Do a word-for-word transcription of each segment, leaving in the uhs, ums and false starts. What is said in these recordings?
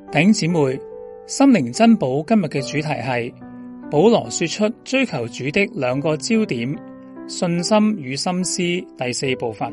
弟兄姊妹，心靈珍寶今日嘅主題係保羅說出追求主的兩個焦點：信心與心思。第四部分，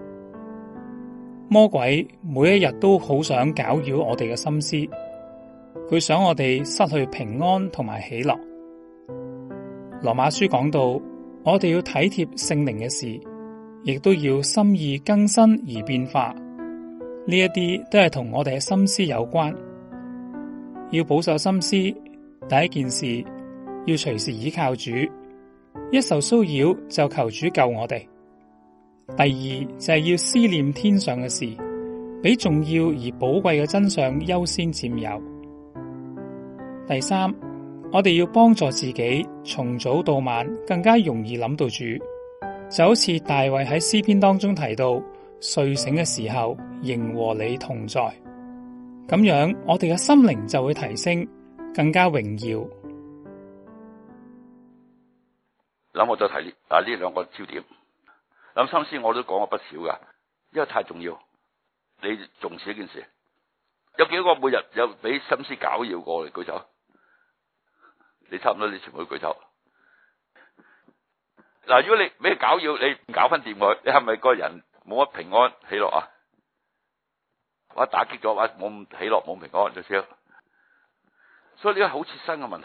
魔鬼每一日都好想攪擾我哋嘅心思，佢想我哋失去平安同埋喜樂。羅馬書講到，我哋要體貼聖靈嘅事，亦都要心意更新而變化。呢一啲都係同我哋嘅心思有關。要保守心思，第一件事要隨時倚靠主，一受騷擾就求主救我哋。第二就係要思念天上嘅事，比重要而寶貴嘅真相優先佔有。第三，我哋要幫助自己從早到晚更加容易諗到主，就好似大衛喺詩篇當中提到，睡醒嘅時候仍和你同在。咁樣我哋嘅心靈就會提升，更加榮耀。 諗我就提呢啊呢兩個焦點。諗心思我都講過不少噶，因為太重要。你重視一件事，有幾個每日有俾心思攪擾過嚟舉手？你差唔多你全部舉手。嗱，如果你俾佢攪擾，你搞翻掂佢，你係咪個人冇乜平安喜樂啊？或者打擊咗，或者冇咁喜樂冇平安就少。所以呢個好切身嘅問題。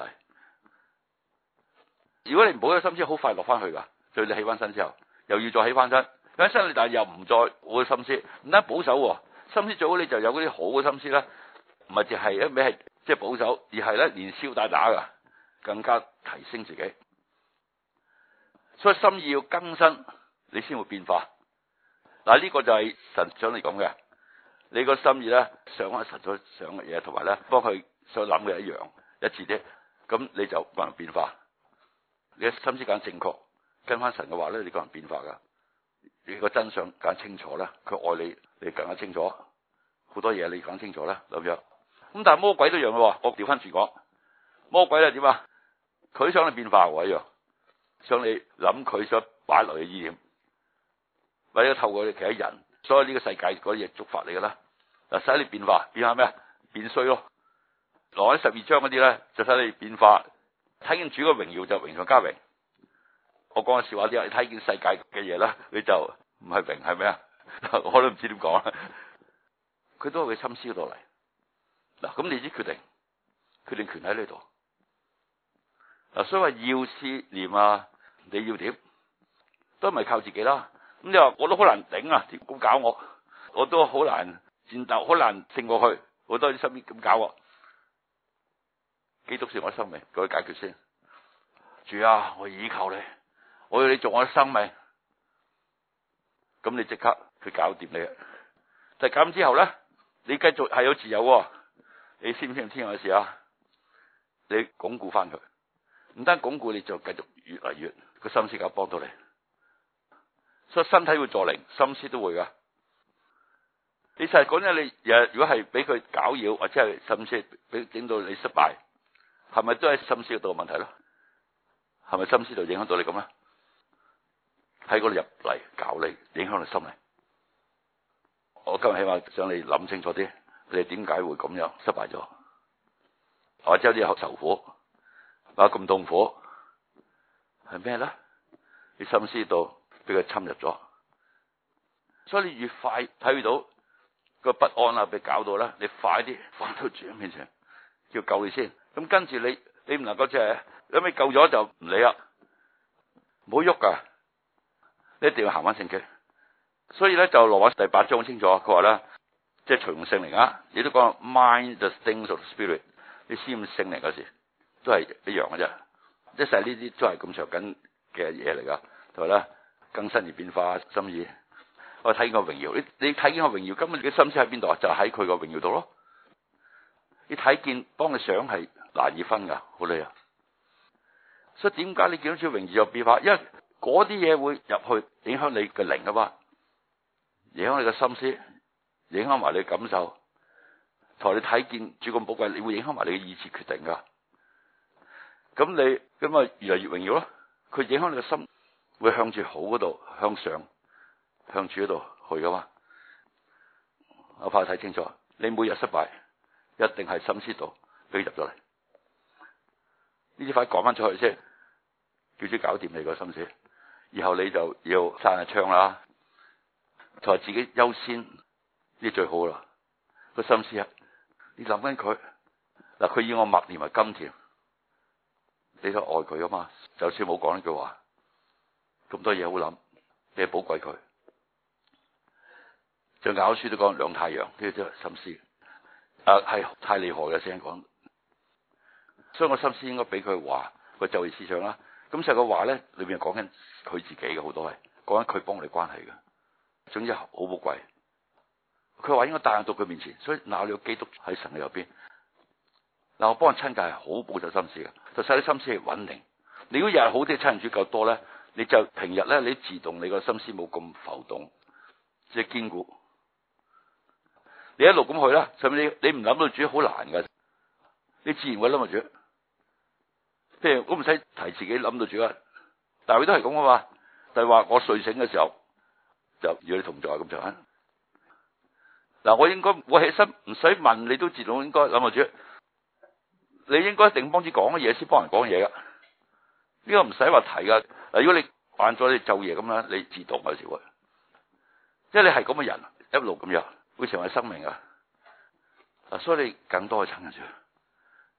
如果你唔保守心思，好快落翻去噶。所以你起翻身之後，又要再起翻身，起翻身你但係又唔再好嘅心思，唔單保守心思最好，你就有嗰啲好嘅心思啦。唔係淨係一味係即係保守，而係咧連消帶打噶，更加提升自己。所以心意要更新，你先會變化。嗱，呢個就係神想你講嘅。你個心意咧，想翻神所想嘅嘢，同埋咧幫佢所諗嘅一樣一致啲，咁你就個人變化。你嘅心思更正確，跟翻神嘅話咧，你個人變化噶。你個真相更清楚啦，佢愛你，你更加清楚。好多嘢你講清楚啦，咁樣。咁但係魔鬼都一樣咯，我調翻轉講，魔鬼咧點啊？佢想你變化喎一樣，想你諗佢想擺落嘅意念，或者透過你其他人，所以呢個世界嗰啲嘢觸發你噶啦。嗱，使你變化，變下咩啊？變衰咯。羅馬十二章嗰啲咧，就使你變化。睇見主嘅榮耀就榮上加榮。我講嘅笑話啲，你睇見世界嘅嘢啦，你就唔係榮係咩啊？我都唔知點講啦。佢都係佢心思嗰度嚟。嗱，咁你知決定，決定權喺呢度。嗱，所以話要思念啊，你要點，都唔係靠自己啦。咁你話我都好難頂啊，咁搞我，我都好難戰鬥，好難勝過去，好多啲身邊咁搞我。基督是我生命，佢解決先。主啊，我倚靠你，我要你做我嘅生命。咁你即刻去搞掂你。但係咁之後咧，你繼續係有自由。你知唔知天上嘅事啊？你鞏固翻佢，唔單鞏固，你就繼續越嚟越個心思搞幫到你。所以身體會助靈，心思都會噶。你實係講咧，你如果係俾佢攪擾，或者係心思俾整到你失敗，係咪都係心思度問題咯？係咪心思度影響到你咁咧？喺嗰度入嚟搞你，影響你心理。我今日起碼想你諗清楚啲，你點解會咁樣失敗咗？或者有啲受苦，話咁痛苦，係咩咧？你心思度俾佢侵入咗，所以你越快睇到個不安啊，俾搞到咧，你快啲翻到主面前，叫救你先。咁跟住你，你唔能夠即係，因為救咗就唔理啦，唔好喐噶，你一定要行翻聖經。所以咧就羅馬第八章清楚，佢話咧，即係隨從聖靈啊，亦都講 mind the things of the spirit， 你思念聖靈嗰時都係一樣嘅啫，一切呢啲都係咁長緊嘅嘢嚟噶，同埋咧更新而變化心意。我睇見個榮耀，你你睇見個榮耀，根本你嘅心思喺邊度啊？就喺佢個榮耀度咯。你睇見幫你想係難以分噶，好厲害。所以點解你見到主榮耀又變化？因為嗰啲嘢會入去影響你嘅靈啊嘛，影響你嘅心思，影響埋你嘅感受。同你睇見主咁寶貴，你會影響埋你嘅意志決定噶。咁你咁啊越嚟越榮耀咯。佢影響你嘅心，會向住好嗰度向上，向住嗰度去噶嘛。我怕睇清楚，你每日失敗。 一定係心思度俾佢入咗嚟。呢啲快講翻出去先，叫主搞掂你個心思，然後你就要閂下窗啦，同埋自己優先呢最好啦。個心思啊，你諗緊佢嗱，佢以我默念為甘甜，你都愛佢啊嘛。就算冇講呢句話，咁多嘢好諗，你寶貴佢。像雅歌書都講兩太陽，呢啲都係心思，啊係太厲害嘅先講。所以我心思應該俾佢話個就業思想啦。咁實個話咧，裏邊講緊佢自己嘅，好多係講緊佢幫我哋關係嘅。總之好寶貴。佢話應該帶到佢面前，所以嗱，你有基督喺神嘅右邊。嗱，我幫人親近係好保守心思嘅，就使啲心思係穩定。你如果日日好啲親近主夠多咧，你就平日咧你自動你個心思冇咁浮動，即係堅固。你一路咁去啦，甚至你你唔諗到主好難㗎，你自然會諗到主。譬如我唔使提自己諗到主啊，但係佢都係咁啊嘛。就係話我睡醒嘅時候就與你同在咁就係。嗱，我應該我起身唔使問你都自動應該諗到主。你應該一定幫主講嘅嘢先幫人講嘢噶，呢個唔使話提噶。嗱，如果你慣咗你晝夜咁啦，你自動有時會，即係你係咁嘅人，一路咁樣會成為生命啊。嗱，所以你更多去親近主。